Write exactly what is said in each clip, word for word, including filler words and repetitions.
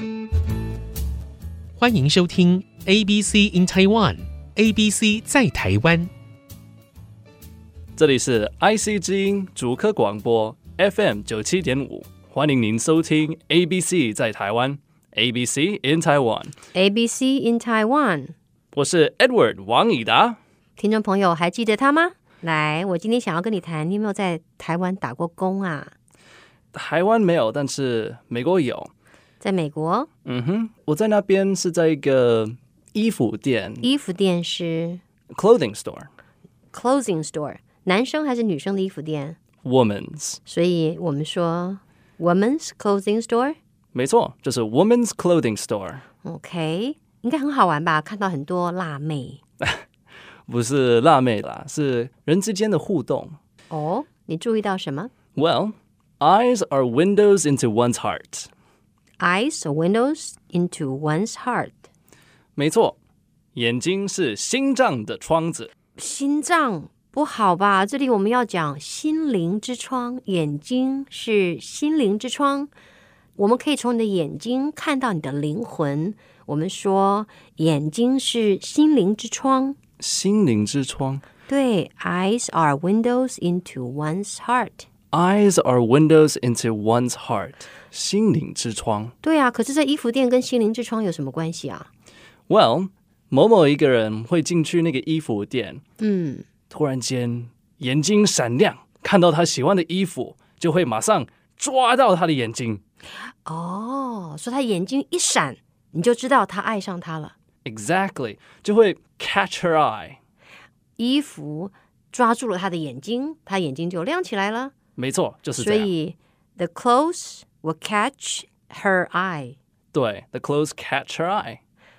歡迎收聽 A B C in Taiwan。A B C 在台灣， 這裡是 I C 之音竹科廣播 F M 九七點五，歡迎您收聽 A B C 在台灣 A B C in Taiwan。A B C in Taiwan， 我是 Edward 王以達。 聽眾朋友還記得他嗎？來，我今天想要跟你談，你有沒有在台灣打過工啊？ 台灣沒有，但是美國有。 在美國？ 嗯哼，我在那邊是在一個衣服店。 衣服店是 clothing store。 clothing store， 男生還是女生的衣服店？ Women's。 所以我們說 women's clothing store。 沒錯，就是 women's clothing store。 OK， 應該很好玩吧？看到很多辣妹。 不是辣妹啦，是人之間的互動。 哦，你注意到什麼？ Well, eyes are windows into one's heart. Eyes are windows into one's heart. 沒錯，眼睛是心臟的窗子。 心臟不好吧？這裡我們要講心靈之窗，眼睛是心靈之窗。我們可以從你的眼睛看到你的靈魂。我們說眼睛是心靈之窗。 心靈之窗。 對 ，Eyes are windows into one's heart.Eyes are windows into one's heart. 心靈之窗。 對啊，可是這衣服店跟心靈之窗有什麼關係啊？ Well, 某某一個人會進去那個衣服店， 嗯， 突然間眼睛閃亮，看到他喜歡的衣服，就會馬上抓到他的眼睛。 哦，所以他眼睛一閃，你就知道他愛上他了。 Exactly， 就會 catch her eye。 衣服抓住了他的眼睛，他眼睛就亮起來了。 沒錯，就是這樣。 所以 the clothes will catch her eye。 對 the clothes catch her eye。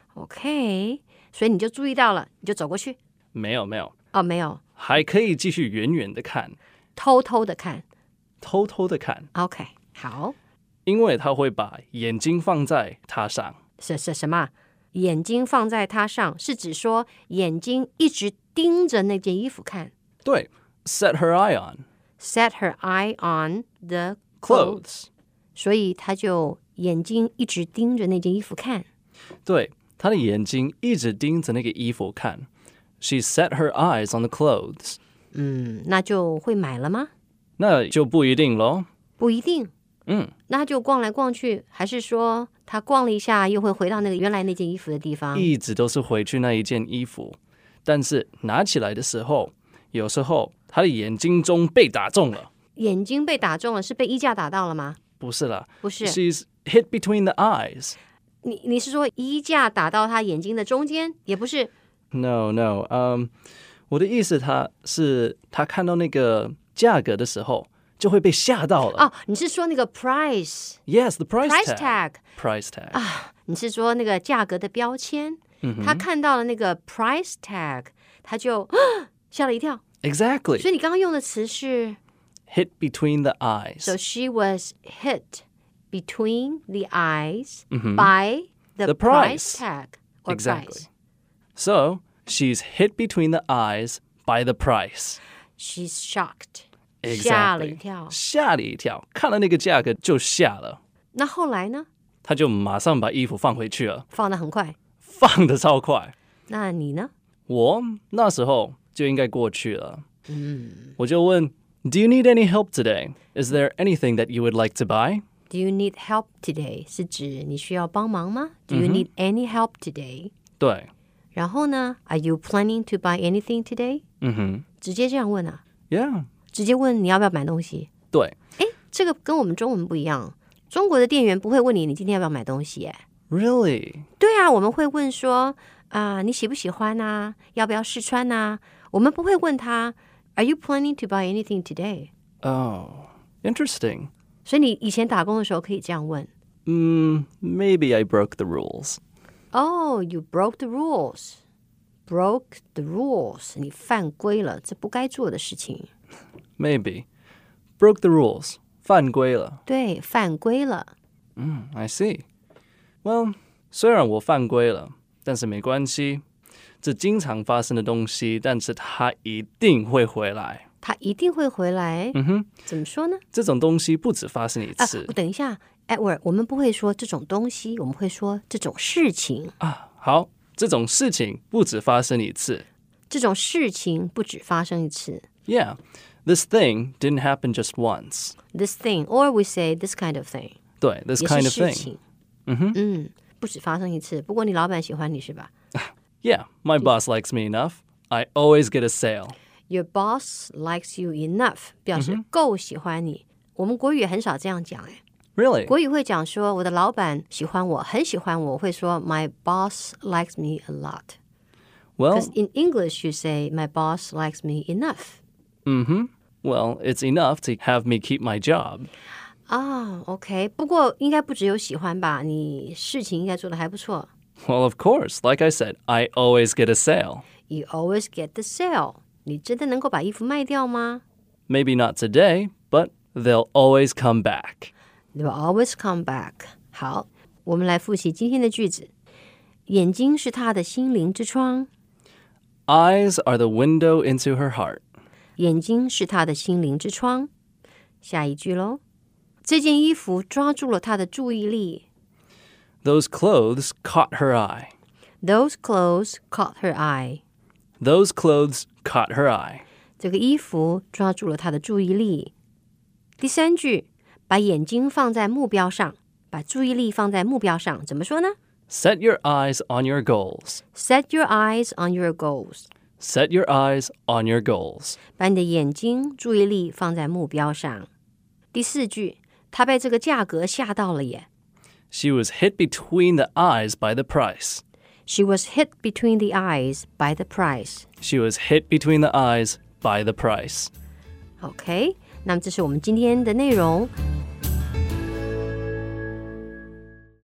OK， 所以你就注意到了，你就走過去。 沒有沒有哦，沒有， 還可以繼續遠遠的看， 偷偷的看， 偷偷的看。 OK， 好， 因為他會把眼睛放在他上。 是是什麼？眼睛放在他上是指說眼睛一直盯着那件衣服看。 對 set her eye on。Set her eye on the clothes. clothes. 所以他就眼睛一直盯着那件衣服看。 對，他的眼睛一直盯着那個衣服看。She set her eyes on the clothes. 嗯，那就會買了嗎？ 那就不一定咯。 不一定。 嗯， 那他就逛來逛去，還是說他逛了一下又會回到那個原來那件衣服的地方？ 一直都是回去那一件衣服，但是拿起來的時候，有時候他的眼睛中被打中了。 眼睛被打中了，是被衣架打到了嗎？ 不是啦， 不是 She's hit between the eyes. 你你是說衣架打到他眼睛的中間？也不是。 No, no. Um, 我的意思他是他看到那個價格的時候就會被嚇到了。 哦，你是說那個 price? Yes, the price, price tag. tag. Price tag. 啊，你是說那個價格的標籤？ 嗯哼， 他看到了那個 price tag， 他就嚇了一跳。 Exactly. 所以你剛剛用的詞是 hit between the eyes. So she was hit between the eyes、 mm-hmm. by the, the price. price tag or exactly. price. So she's hit between the eyes by the price. She's shocked. Exactly. 嚇了一跳。 嚇了一跳，看了那個價格就嚇了。 那後來呢？ 他就馬上把衣服放回去了。 放得很快。 放得超快。 那你呢？ 我那時候就應該過去了。 嗯， 我就問 Do you need any help today? Is there anything that you would like to buy? Do you need help today? 是指你需要幫忙嗎？ Do you need any help today? 對。 然後呢 Are you planning to buy anything today? 嗯哼。 直接這樣問啊 Yeah. 直接問你要不要買東西。 對。 誒，這個跟我們中文不一樣。中國的店員不會問你你今天要不要買東西耶。 Really? 對啊，我們會問說啊、呃，你喜不喜歡啊？要不要試穿啊？我們不會問他 Are you planning to buy anything today? Oh, interesting. 所以你以前打工的時候可以這樣問。 嗯、mm, Maybe I broke the rules. Oh, you broke the rules. Broke the rules. 你犯規了，這不該做的事情。 Maybe. Broke the rules. 犯規了。 對，犯規了。 嗯、mm, I see. Well, 雖然我犯規了，但是沒關係。這經常發生的東西，但是它一定會回來。 它一定會回來。 嗯哼， 怎麼說呢？ 這種東西不止發生一次。 啊，等一下， Edward， 我們不會說這種東西，我們會說這種事情啊。好，這種事情不止發生一次。 這種事情不止發生一次。 Yeah, this thing didn't happen just once. This thing, or we say this kind of thing. 對 ，this kind of thing. 嗯哼，嗯，不止發生一次。不過你老闆喜歡你是吧？ Yeah, my boss likes me enough. I always get a sale. Your boss likes you enough 表示夠喜歡你。我們國語也很少這樣講哎。 Really? 國語會講說我的老闆喜歡我，很喜歡我，我會說 My boss likes me a lot. Well, Because in English you say my boss likes me enough. Mm-hmm. Well, it's enough to have me keep my job. 啊、oh, ，OK， 不過應該不只有喜歡吧？你事情應該做得還不錯。 Well, of course. Like I said, I always get a sale. You always get the sale. 你真的能夠把衣服賣掉嗎？ Maybe not today, but they'll always come back. They'll always come back. 好，我們來複習今天的句子。眼睛是他的心靈之窗。 Eyes are the window into her heart. 眼睛是他的心靈之窗。下一句嘍。這件衣服抓住了他的注意力。 Those clothes caught her eye. Those clothes caught her eye. Those clothes caught her eye. 這個衣服抓住了他的注意力。第三句，把眼睛放在目標上，把注意力放在目標上，怎麼說呢？ Set your eyes on your goals. Set your eyes on your goals. Set your eyes on your goals. 把你的眼睛、注意力放在目標上。第四句，他被這個價格嚇到了耶。 She was hit between the eyes by the price. She was hit between the eyes by the price. She was hit between the eyes by the price. OK， 那麼這是我們今天的內容。